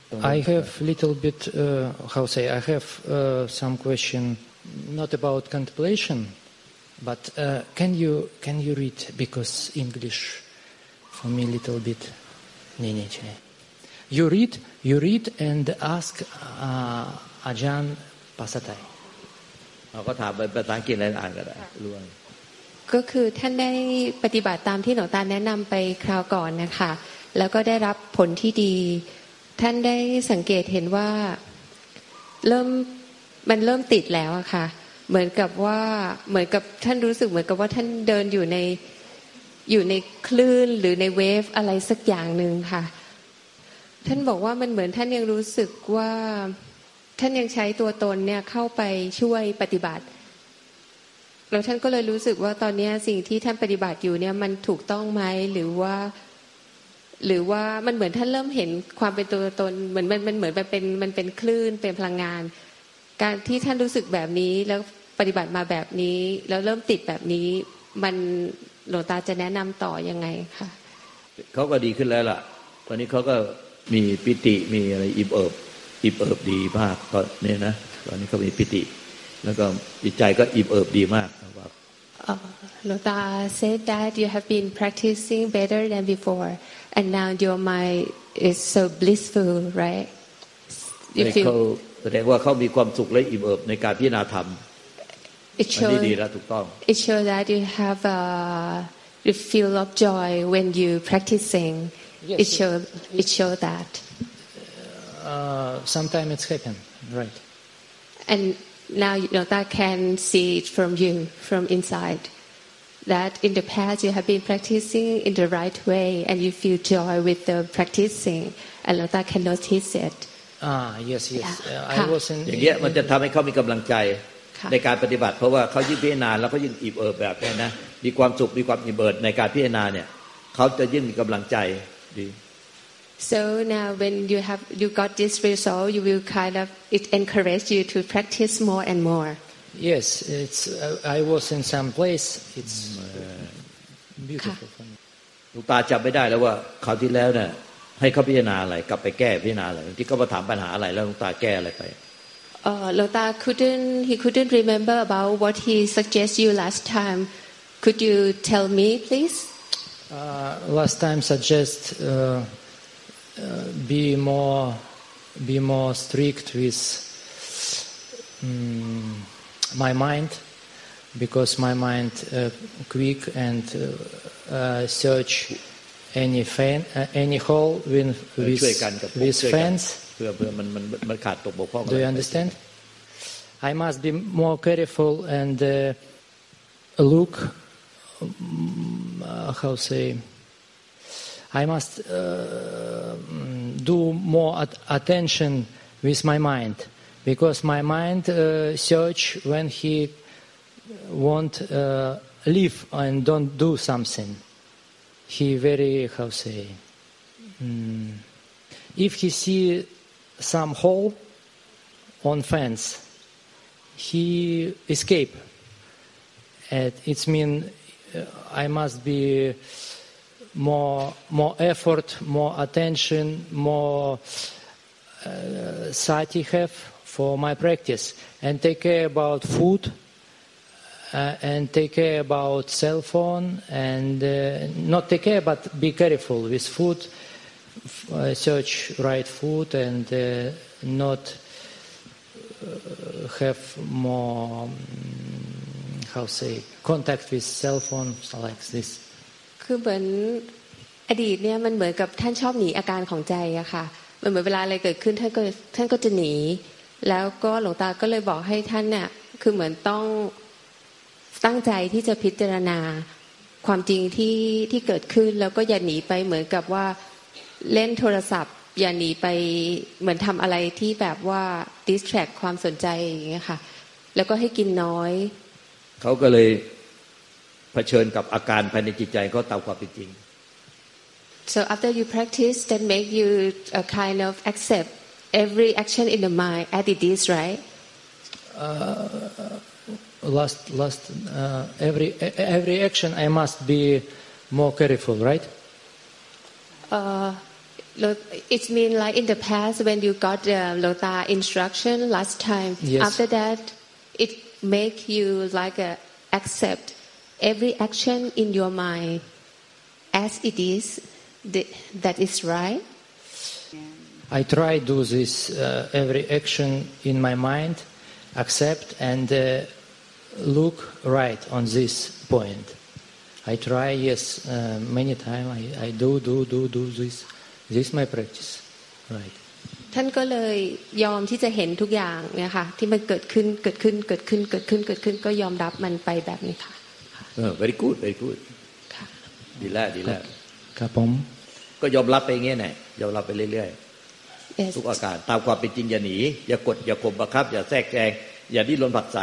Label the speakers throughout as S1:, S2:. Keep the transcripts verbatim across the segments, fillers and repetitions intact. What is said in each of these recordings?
S1: I have little bit uh, how say I have uh, some question not about contemplation but uh, can you can you read because English for me little bit นี่นี่ใช่ you read you read and ask uh, อาจารย์ภาษาไทย
S2: เราก็ถามเป็นภาษาอังกฤษอ่านก็ได้รู้
S3: ก็คือท่านได้ปฏิบัติตามที่หลวงตาแนะนำไปคราวก่อนนะคะแล้วก็ได้รับผลที่ดีท่านได้สังเกตเห็นว่าเริ่มมันเริ่มติดแล้วอะค่ะเหมือนกับว่าเหมือนกับท่านรู้สึกเหมือนกับว่าท่านเดินอยู่ในอยู่ในคลื่นหรือในเวฟอะไรสักอย่างนึงค่ะท่านบอกว่ามันเหมือนท่านยังรู้สึกว่าท่านยังใช้ตัวตนเนี่ยเข้าไปช่วยปฏิบัติแล้วท่านก็เลยรู้สึกว่าตอนนี้สิ่งที่ท่านปฏิบัติอยู่เนี่ยมันถูกต้องไหมหรือว่าหรือว่ามันเหมือนท่านเริ่มเห็นความเป็นตัวตนเหมือนมันมันเหมือนมันเป็นมันเป็นคลื่นเป็นพลังงานการที่ท่านรู้สึกแบบนี้แล้วปฏิบัติมาแบบนี้แล้วเริ่มติดแบบนี้มันหลวงตาจะแนะนำต่อยังไงคะ
S2: เขาก็ดีขึ้นแล้วล่ะตอนนี้เขาก็มีปิติมีอะไรอิ่มเอิบอิ่มเอิบดีมากก็เนี่ยนะตอนนี้เขามีปิติแล้วก็จิตใจก็อิ่มเอิบดีมากครับ
S3: หลวงตา said that you have been practicing better than before and now your mind is so blissful right
S2: you feel แสดงว่าเขามีความสุขและอิ่มเอิบในการพิจารณาธรรม
S3: it shows it shows that you have a you feel of joy when you practicing yes, it show it show that
S1: uh, sometimes it's happen right
S3: and now Lota can see it from you from inside that in the past you have been practicing in the right way and you feel joy with the practicing and Lota can notice it
S1: ah yes yes uh, I was in
S2: อย่างเงี้ยมันจะทำให้เขามีกำลังใจในการปฏิบัติเพราะว่าเขายิ่งพิจารณาแล้วเขายิ่งอิ่มเอิบแบบนี้นะมีความสุขมีความอิ่มเอิบในการพิจารณาเนี่ยเขาจะยิ่งมีกำลังใจดี
S3: so now when you have you got this result you will kind of it encourage you to practice more and more
S1: yes it's uh, I was in some place it's beautiful
S2: หลวงตาจำไม่ได้แล้วว่าคราวที่แล้วเนี่ยให้เขาพิจารณาอะไรกลับไปแก้พิจารณาอะไรที่เขามาถามปัญหาอะไรแล้วหลวงตาแก้อะไรไป
S3: Uh, Lota couldn't he couldn't remember about what he suggested you last time. Could you tell me, please?
S1: Uh, last time suggest uh, uh, be more be more strict with um, my mind because my mind uh, quick and uh, uh, search any fan uh, any hole with with, with fans.
S2: เพื่อเพื่อมันมันมันขาดตกบกพร่อง
S1: Do you understand? I must be more careful and uh, look uh, how say I must uh, do more at- attention with my mind because my mind uh, search when he won't uh, live and don't do something. He very how say um, if he see some hole on fence he escape and it mean uh, I must be more more effort more attention more uh, sati have for my practice and take care about food uh, and take care about cell phone and uh, not take care but be careful with food Uh, search right food and uh, not uh, have more um, how say contact with cell phone like this
S3: คือเหมือนอดีตเนี่ยมันเหมือนกับท่านชอบหนีอาการของใจอะค่ะมันเหมือนเวลาอะไรเกิดขึ้นท่านก็ท่านก็จะหนีแล้วก็หลวงตาก็เลยบอกให้ท่านเนี่ยคือเหมือนต้องตั้งใจที่จะพิจารณาความจริงที่ที่เกิดขึ้นแล้วก็อย่าหนีไปเหมือนกับว่าเล่นโทรศัพท์อย่าหนีไปเหมือนทำอะไรที่แบบว่า distract ความสนใจอย่างเงี้ยค่ะแล้วก็ให้กินน้อย
S2: เขาก็เลยเผชิญกับอาการภายในจิตใจเขาตามความเป็นจริง
S3: so after you practice that make you a kind of accept every action in the mind as it is right
S1: uh, last last uh, every every action I must be more careful right
S3: uh, It means like in the past when you got the Lota instruction last time.
S1: Yes.
S3: After that, it make you like a, accept every action in your mind as it is. That is right.
S1: I try do this uh, every action in my mind, accept and uh, look right on this point. I try, yes, uh, many times. I, I do, do, do, do this. This is my practice, right?
S3: ท่านก็เลยยอมที่จะเห็นทุกอย่างเนี่ยค่ะที่มันเกิดขึ้นเกิดขึ้นเกิดขึ้นเกิดขึ้นเกิดขึ้นก็ยอมรับมันไปแบบนี้ค่ะ
S2: very good very good
S3: ค่ะ
S2: ดีแล้วดีแล้ว
S1: ครับผม
S2: ก็ยอมรับไปอย่างเงี้ยแหละยอมรับไปเรื่อยๆทุกอาการตามความเป็นจริงอย่าหนีอย่ากดอย่าข่มบังคับอย่าแทรกแซงอย่าดิ้นรนผลักไส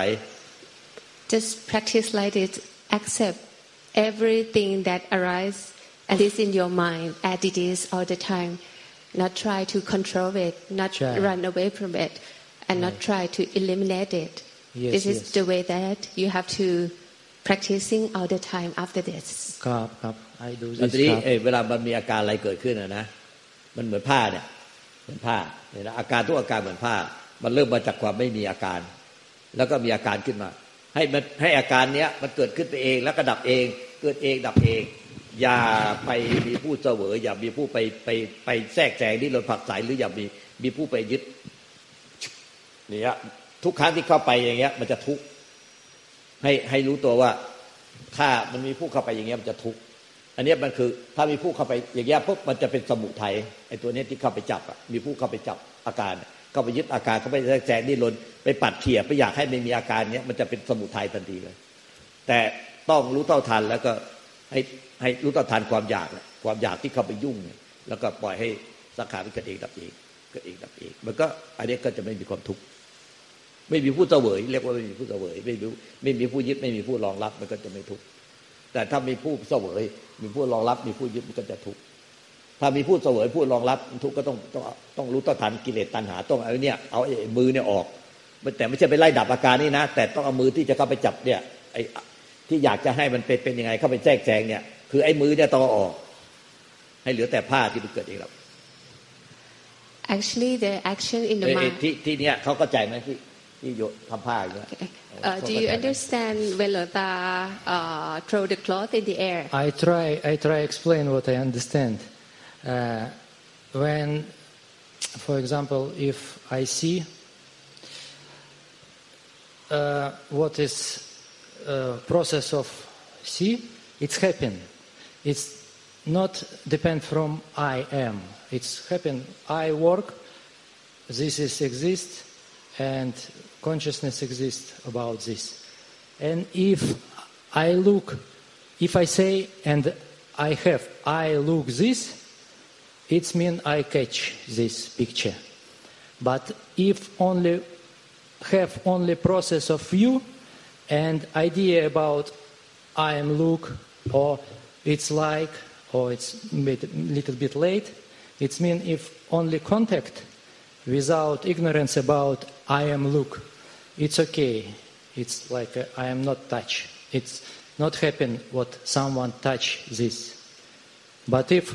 S3: just practice like this accept everything that arises and is in your mind as it is all the time not try to control it not
S1: Try.
S3: run away from it and not try to eliminate it
S1: yes,
S3: this is
S1: yes.
S3: the way that you have to practicing all the time after this
S1: ครับครับ I do
S2: อัน
S1: this
S2: นี้
S1: ครับ
S2: เวลามันมีอาการอะไรเกิดขึ้นนะนะมันเหมือนผ้าเนี่ยเหมือนผ้าเนี่ยนะอาการทุกอาการเหมือนผ้ามันเริ่มมาจากความไม่มีอาการแล้วก็มีอาการขึ้นมาให้มันให้อาการเนี้ยมันเกิดขึ้นไปเองแล้วก็ดับเองเกิดเองดับเองอย่าไปมีผู้เสวยอย่ามีผู้ไปไปไปแทรกแซงที่เราผลักไสหรืออย่ามีมีผู้ไปยึดเนี่ยทุกครั้งที่เข้าไปอย่างเงี้ยมันจะทุกข์ให้ให้รู้ตัวว่าถ้ามันมีผู้เข้าไปอย่างเงี้ยมันจะทุกข์อันนี้มันคือถ้ามีผู้เข้าไปอย่างเงี้ยปุ๊บมันจะเป็นสมุทัยไอ้ตัวนี้ที่เข้าไปจับอ่ะมีผู้เข้าไปจับอาการเข้าไปยึดอาการเข้าไปแทรกแซงดิ้นรนไปปัดเขี่ยไปอยากให้ไม่มีอาการเนี้ยมันจะเป็นสมุทัยทันทีเลยแต่ต้องรู้เท่าทันแล้วก็ให้ให้รู้เท่าทันความอยากความอยากที่เข้าไปยุ่งแล้วก็ปล่อยให้สังขารมันเกิดเองดับเองเกิดเองดับเองมันก็อันนี้ก็จะไม่มีความทุกข์ไม่มีผู้เสวยเรียกว่าไม่มีผู้เสวยไม่มีไม่มีผู้ยึดไม่มีผู้รองรับมันก็จะไม่ทุกข์แต่ถ้ามีผู้เสวยมีผู้รองรับมีผู้ยึดมันก็จะทุกข์ถ้ามีผู้เสวยผู้รองรับทุกข์ก็ต้องต้องต้องรู้เท่าทันกิเลสตัณหาต้องเอาเนี่ยเอาไอ้มือเนี่ยออกแต่ไม่ใช่ไปไล่ดับอาการนี่นะแต่ต้องเอามือที่จะเข้าไปจับเนี่ยไอ้ที่อยากจะให้มันเป็นเป็นยังไงเข้าไปแทรกแซงเนี่ยคือไอ้มือเนี่ยต้องออกให้เหลือแต่ผ้าที่มันเกิดเองครับ
S3: actually the action in the mind
S2: ที่ที่เนี้ยเขาเข้าใจไหมที่ที่โยทำผ้าอย่างเงี้ย
S3: Uh, do you understand when Lota uh, throw the cloth in the air?
S1: I try. I try explain what I understand. Uh, when, for example, if I see uh, what is uh, process of see, it's happen. It's not depend from I am. It's happen. I work. This is exist, and consciousness exists about this. And if I look, if I say and I have, I look this, it means I catch this picture. But if only have only process of view and idea about I am look or it's like or it's a little bit late, it means if only contact without ignorance about I am look, it's okay. It's like a, I am not touch. It's not happen what someone touch this. But if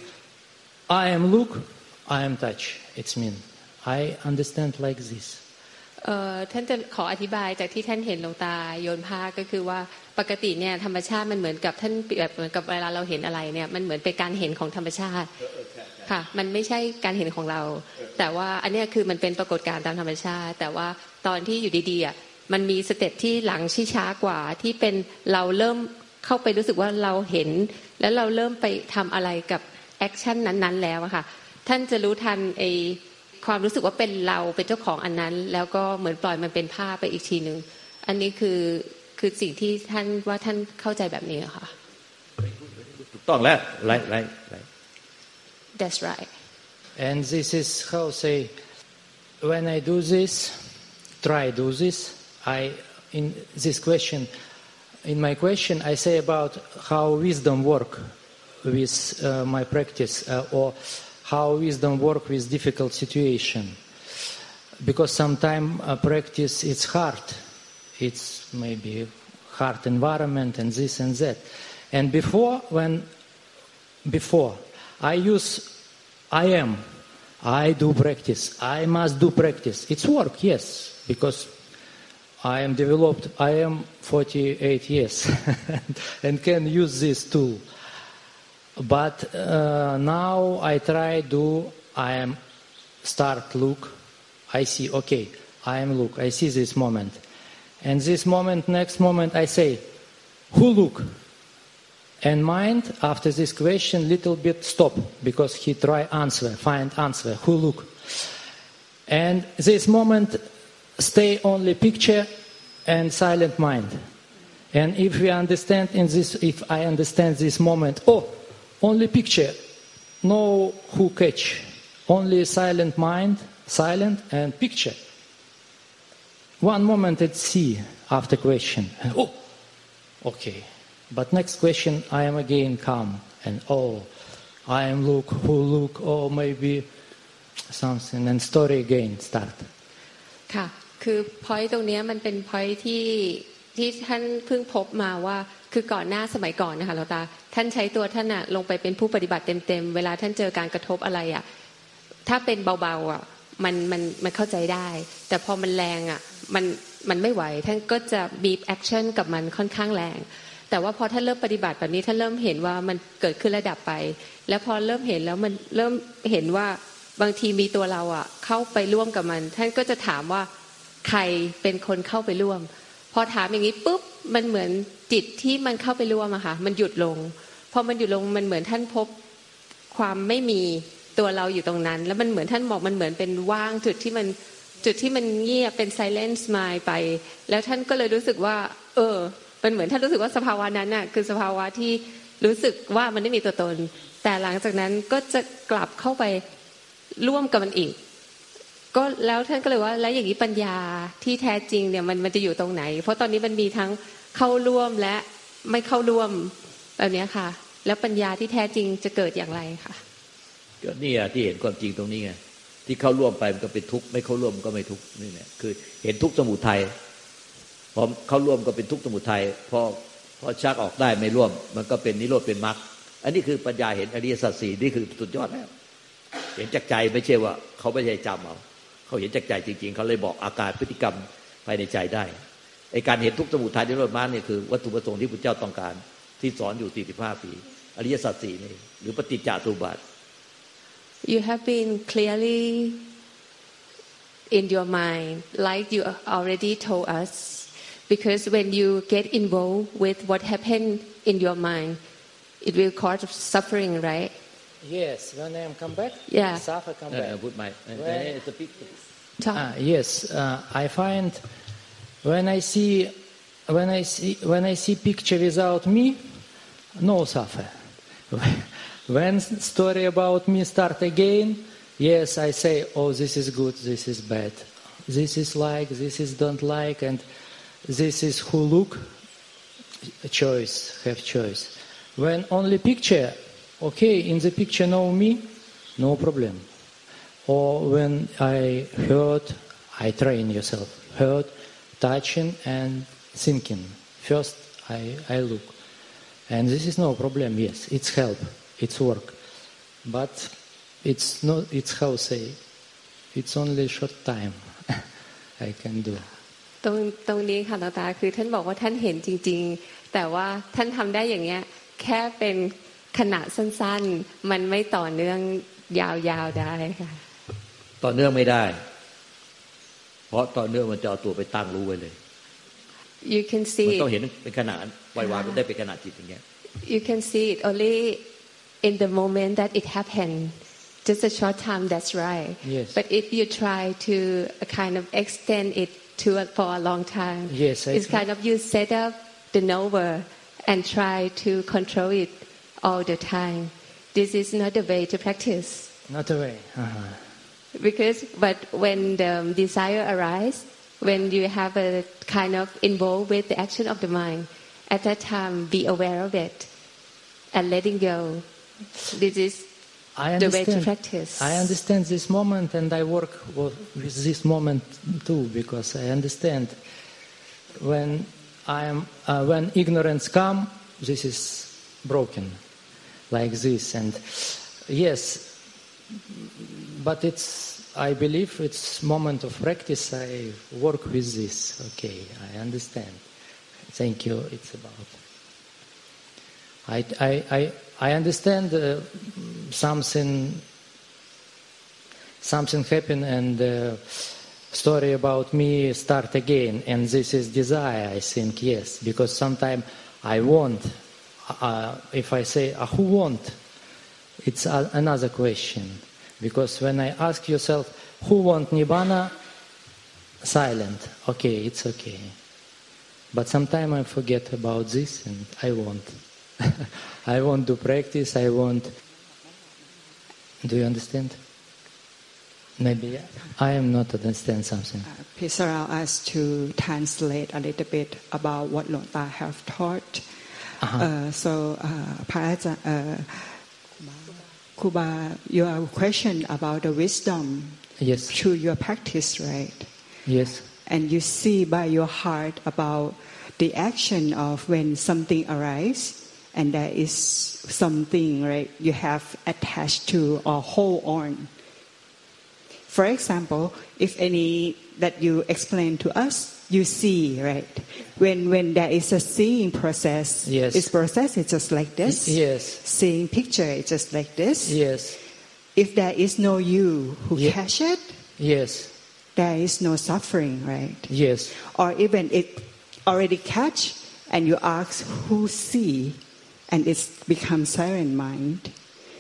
S1: I am look, I am touch. It's mean. I understand like this.
S3: เอ่อท่านจะขออธิบายจากที่ท่านเห็นหลวงตาโยนผ้าก็คือว่าปกติเนี่ยธรรมชาติมันเหมือนกับท่านแบบเหมือนกับเวลาเราเห็นอะไรเนี่ยมันเหมือนเป็นการเห็นของธรรมชาติค่ะมันไม่ใช่การเห็นของเราแต่ว่าอันนี้คือมันเป็นปรากฏการณ์ตามธรรมชาติแต่ว่าตอนที่อยู่ดีๆอ่ะมันมีสเต็ปที่หลังที่ช้ากว่าที่เป็นเราเริ่มเข้าไปรู้สึกว่าเราเห็นแล้วเราเริ่มไปทำอะไรกับแอคชั่นนั้นๆแล้วอะค่ะท่านจะรู้ทันไอความรู้สึกว่าเป็นเราเป็นเจ้าของอันนั้นแล้วก็เหมือนปล่อยมันเป็นภาพไปอีกทีนึงอันนี้คือคือสิ่งที่ท่านว่าท่านเข้าใจแบบนี้ค่ะ
S2: ถูกต้องแล้วไรไรไร
S3: That's right
S1: and this is how say when I do this try do this I in this question in my question I say about how wisdom work with uh, my practice uh, or how wisdom work with difficult situation because sometimes uh, practice it's hard it's maybe hard environment and this and that and before when before I use I am. I do practice. I must do practice. It's work, yes, because I am developed. I am forty-eight years and can use this tool. But uh, now I try do. I am start look. I see. Okay, I am look. I see this moment, and this moment, next moment, I say, who look? And mind, after this question, little bit stop, because he try answer, find answer, who look. And this moment, stay only picture and silent mind. And if we understand in this, if I understand this moment, oh, only picture, no who catch, only silent mind, silent and picture. One moment it's see after question, and oh, okay. But next question, I am again calm, and oh, I am look, who look, oh, maybe something, and story again start.
S3: ค่ะคือ point ตรงนี้มันเป็น point ที่ที่ท่านเพิ่งพบมาว่าคือก่อนหน้าสมัยก่อนนะคะหลวงตาท่านใช้ตัวท่านน่ะลงไปเป็นผู้ปฏิบัติเต็มๆเวลาท่านเจอการกระทบอะไรอ่ะถ้าเป็นเบาๆอ่ะมันมันมันเข้าใจได้แต่พอมันแรงอ่ะมันมันไม่ไหวท่านก็จะบีบแอคชั่นกับมันค่อนข้างแรงแต่ว่าพอท่านเริ่มปฏิบัติแบบนี้ท่านเริ่มเห็นว่ามันเกิดขึ้นระดับไปแล้วพอเริ่มเห็นแล้วมันเริ่มเห็นว่าบางทีมีตัวเราอ่ะเข้าไปร่วมกับมันท่านก็จะถามว่าใครเป็นคนเข้าไปร่วมพอถามอย่างนี้ปุ๊บมันเหมือนจิตที่มันเข้าไปร่วมอะค่ะมันหยุดลงพอมันหยุดลงมันเหมือนท่านพบความไม่มีตัวเราอยู่ตรงนั้นแล้วมันเหมือนท่านบอกมันเหมือนเป็นว่างจุดที่มันจุดที่มันเงียบเป็น silence mind ไปแล้วท่านก็เลยรู้สึกว่าเออมันเหมือนท่านรู้สึกว่าสภาวะนั้นน่ะคือสภาวะที่รู้สึกว่ามันไม่มีตัวตนแต่หลังจากนั้นก็จะกลับเข้าไปร่วมกับมันอีกก็แล้วท่านก็เลยว่าแล้วอย่างนี้ปัญญาที่แท้จริงเนี่ยมันมันจะอยู่ตรงไหนเพราะตอนนี้มันมีทั้งเข้าร่วมและไม่เข้าร่วมแบบนี้ค่ะแล้วปัญญาที่แท้จริงจะเกิดอย่างไรค่ะ
S2: ก็นี่อ่ะที่เห็นความจริงตรงนี้ไงที่เข้าร่วมไปมันก็เป็นทุกข์ไม่เข้าร่วมก็ไม่ทุกข์นี่แหละคือเห็นทุกข์สมุทัยพอเข้าร่วมก็เป็นทุกข์สมุทัยพอพอชักออกได้ไม่ร่วมมันก็เป็นนิโรธเป็นมรรคอันนี้คือปัญญาเห็นอริยสัจสี่นี่คือสุดยอดแล้วเห็นจากใจไม่ใช่ว่าเขาไม่ใช่จำเอาเขาเห็นจากใจจริงๆเขาเลยบอกอาการพฤติกรรมภายในใจได้ไอ้การเห็นทุกข์สมุทัยนิโรธมรรคเนี่ยคือวัตถุประสงค์ที่พระเจ้าต้องการที่สอนอยู่สี่สิบห้าปีอริยสัจสี่นี่หรือปฏิจจสมุปบาท
S3: You have been clearly in your mind like you already told us because when you get involved with what happened in your mind it will cause suffering right
S1: Yes when I am come back
S3: yeah
S1: suffer come back
S2: put my
S1: ah yes uh, I find when I see when I see when I see picture without me no suffer when story about me start again yes I say oh this is good this is bad this is like this is don't like and this is who look choice have choice when only picture okay in the picture know me no problem or when I heard I train yourself heard touching and thinking first I I look and this is no problem yes it's help it's work but it's not it's how say it's only short time I can do
S3: ตรงตรงนี้ค่ะหลวงตาคือท่านบอกว่าท่านเห็นจริงๆแต่ว่าท่านทำได้อย่างเงี้ยแค่เป็นขณะสั้นๆมันไม่ต่อเนื่องยาวๆได้ค่ะ
S2: ต่อเนื่องไม่ได้เพราะต่อเนื่องมันจะเอาตัวไปตั้งรู้ไว้เลย
S3: You can see
S2: มันต้องเห็นเป็นขณะปล่อยวางมันได้เป็นขณะจิตอย่างเงี้ย
S3: You can see it only in the moment that it happened just a short time that's right
S1: yes.
S3: but if you try to kind of extend it to for a long time
S1: yes,
S3: it's kind of you set up the knower and try to control it all the time this is not the way to practice
S1: not the way uh-huh.
S3: because but when the desire arises when you have a kind of involved with the action of the mind at that time be aware of it and letting go this is
S1: I
S3: the way to
S1: understand.
S3: practice
S1: I understand this moment and I work with this moment too because I understand when I am uh, when ignorance come this is broken like this and yes but it's, I believe it's moment of practice. I work with this. Okay, I understand. Thank you. It's about. I, I, I, I understand uh, something, something happened and uh, story about me start again. And this is desire, I think, yes. Because sometimes I want, uh, if I say, uh, who want? It's a, another question. Because when I ask yourself, who want Nibbana? Silent. Okay, it's okay. But sometimes I forget about this and I want. I want to practice, I want... Do you understand? Maybe I am not understand something.
S4: Uh, please allow us to translate a little bit about what Luang Ta have taught. Uh-huh. Uh, so, uh, uh, Kuba, your question about the wisdom
S1: yes.
S4: through your practice, right?
S1: Yes.
S4: And you see by your heart about the action of when something arises, and there is something, right, you have attached to or hold on. For example, if any that you explain to us, you see, right? When when there is a seeing process,
S1: yes.
S4: this process is just like this.
S1: Yes.
S4: Seeing picture is just like this.
S1: Yes.
S4: If there is no you who
S1: Ye-
S4: catch it,
S1: yes.
S4: there is no suffering, right?
S1: Yes.
S4: Or even it already catch, and you ask who see, and it's become silent mind.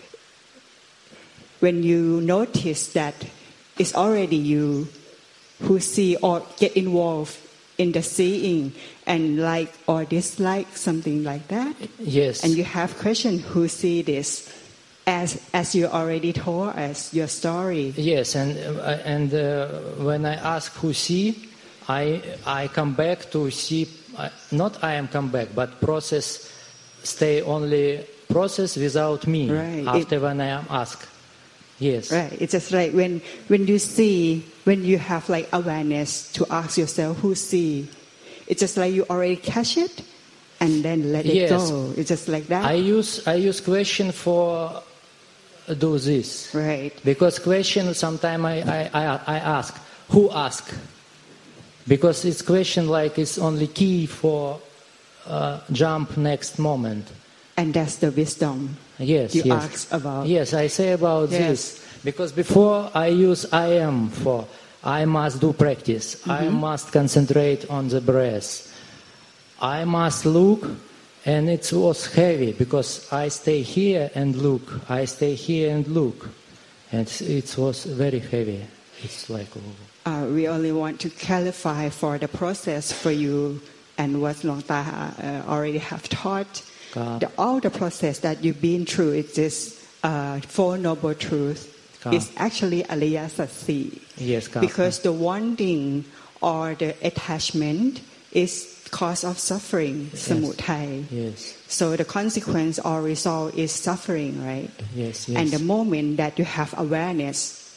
S4: When you notice that it's already you who see or get involved in the seeing and like or dislike something like that.
S1: Yes.
S4: And you have question who see this, as as you already told us your story.
S1: Yes, and uh, and uh, when I ask who see, I I come back to see. Uh, not I am come back, but process stay only process without me.
S4: Right.
S1: After
S4: it,
S1: when I am asked. Yes.
S4: Right. It's just like when when you see, when you have like awareness to ask yourself who see, it's just like you already catch it, and then let it
S1: yes.
S4: go. It's just like that.
S1: I use I use question for do this.
S4: Right.
S1: Because question sometimes I, I, I, I ask who ask, because it's question like it's only key for uh, jump next moment.
S4: And that's the wisdom.
S1: Yes,
S4: you
S1: yes.
S4: ask about.
S1: Yes, I say about
S4: yes.
S1: this because before I use I am for I must do practice. Mm-hmm. I must concentrate on the breath. I must look, and it was heavy because I stay here and look. I stay here and look, and it was very heavy. It's like. Oh.
S4: Uh, we only want to clarify for the process for you and what Luang Ta uh, already have taught. The, all the process that you've been through, it's this uh, Four Noble Truths. It's actually Alaya Sattสี่.
S1: Yes,
S4: because the wanting or the attachment is cause of suffering,
S1: yes.
S4: Samudaya.
S1: Yes.
S4: So the consequence or result is suffering, right?
S1: Yes, yes.
S4: And the moment that you have awareness,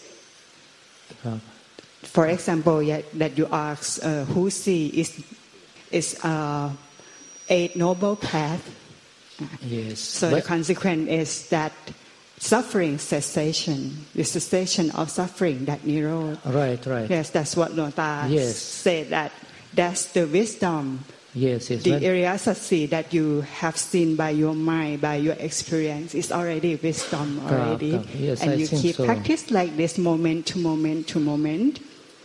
S1: God.
S4: For example, yeah, that you ask uh, who see is is uh, Eight Noble Path.
S1: Yes.
S4: So
S1: but
S4: the consequence is that suffering cessation, the cessation of suffering, that Nirodha.
S1: Right, right.
S4: Yes, that's what Luang Ta
S1: yes.
S4: said, that that's the wisdom.
S1: Yes, yes.
S4: The Arya Sattสี่that you have seen by your mind, by your experience, is already wisdom already.
S1: God, God. Yes,
S4: and
S1: I
S4: you
S1: think
S4: keep
S1: so.
S4: practice like this moment to moment to moment.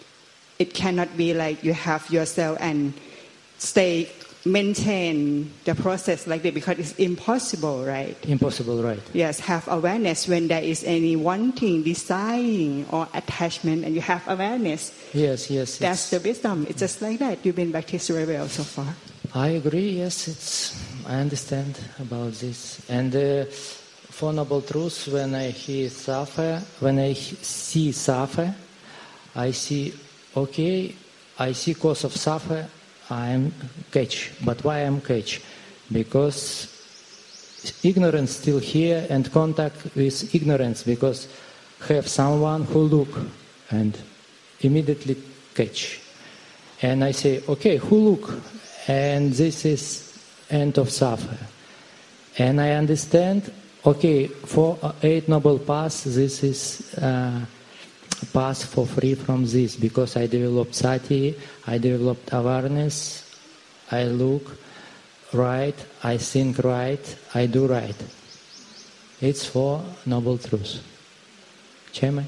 S4: It cannot be like you have yourself and stay maintain the process like that, because it's impossible, right?
S1: Impossible, right?
S4: Yes, have awareness when there is any wanting, desiring, or attachment, and you have awareness.
S1: Yes, yes.
S4: That's the wisdom. It's just like that. You've been practicing very well so far.
S1: I agree. Yes, it's. I understand about this. And uh, Four Noble Truths. When I hear suffer, when I see suffer, I see. Okay, I see cause of suffer. I am catch. But why I am catch? Because ignorance still here and contact with ignorance. Because have someone who look and immediately catch. And I say, okay, who look? And this is end of suffer. And I understand. Okay, for Eight Noble Paths, this is uh, path for free from this because I developed sati, I developed awareness, I look right, I think right, I do right. It's for noble truth. ใช่ไหม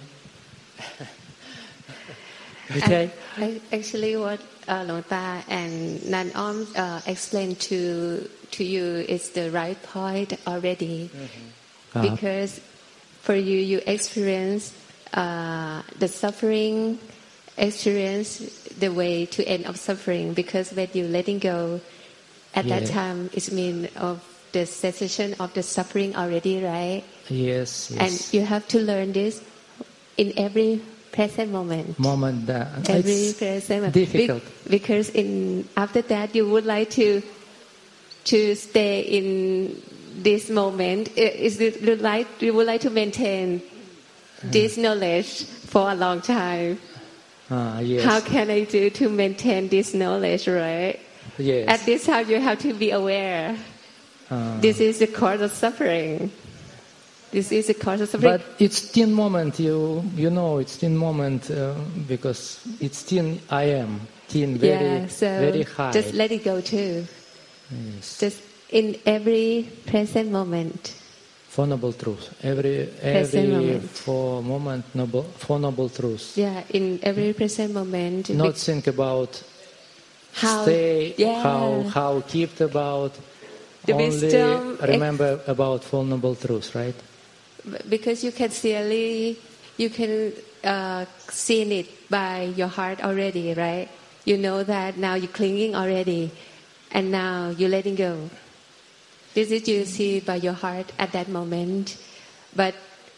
S1: Okay.
S3: I, I, actually, what uh, Long Ta and Nan Om uh, explained to to you is the right point already, mm-hmm. because for you, you experience uh, the suffering, experience the way to end of suffering. Because when you letting go, at yeah. that time, it means of the cessation of the suffering already, right?
S1: Yes, yes.
S3: And you have to learn this in every present moment.
S1: Moment that
S3: every
S1: it's
S3: present moment.
S1: difficult.
S3: Be- because in after that you would like to to stay in this moment. Is it you like you would like to maintain this knowledge for a long time?
S1: Ah, yes.
S3: How can I do to maintain this knowledge, right?
S1: Yes.
S3: At this time you have to be aware. Uh, this is the cause of suffering. This is a cause of suffering.
S1: But it's thin moment, you you know, it's thin moment uh, because it's thin I am, thin, very,
S3: yeah, so
S1: very high.
S3: Just let it go too.
S1: Yes.
S3: Just in every present moment.
S1: For noble truth. Every,
S3: present
S1: every
S3: moment.
S1: for moment, noble, for noble truth.
S3: Yeah, in every present moment.
S1: Not think about
S3: how,
S1: stay,
S3: yeah.
S1: how, how keep about,
S3: the
S1: only
S3: wisdom,
S1: remember ex- about for noble truth, right?
S3: Because you can clearly, you can uh, see it by your heart already, right? You know that now you're clinging already, and now you're letting go. This is you see by your heart at that moment, but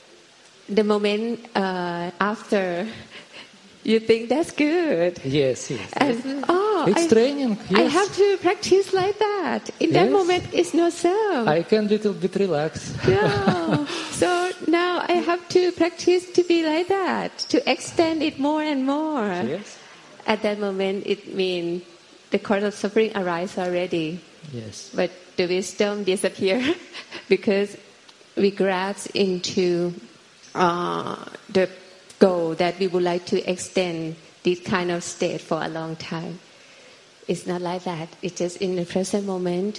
S3: the moment uh, after, you think that's good.
S1: Yes, yes.
S3: And, oh,
S1: it's
S3: I,
S1: training. Yes.
S3: I have to practice like that. In
S1: yes.
S3: that moment, it's not so.
S1: I can little bit relax.
S3: Yeah. So now I have to practice to be like that, to extend it more and more.
S1: Yes.
S3: At that moment, it means the cause of suffering arises already.
S1: Yes.
S3: But the wisdom disappears because we grasp into uh, the goal that we would like to extend this kind of state for a long time. It's not like that. It's just in the present moment.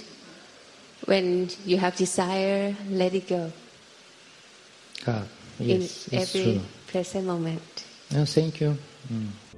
S3: When you have desire, let it go.
S1: Ah, yes,
S3: in
S1: it's
S3: every
S1: true.
S3: present moment.
S1: No, thank you. Mm.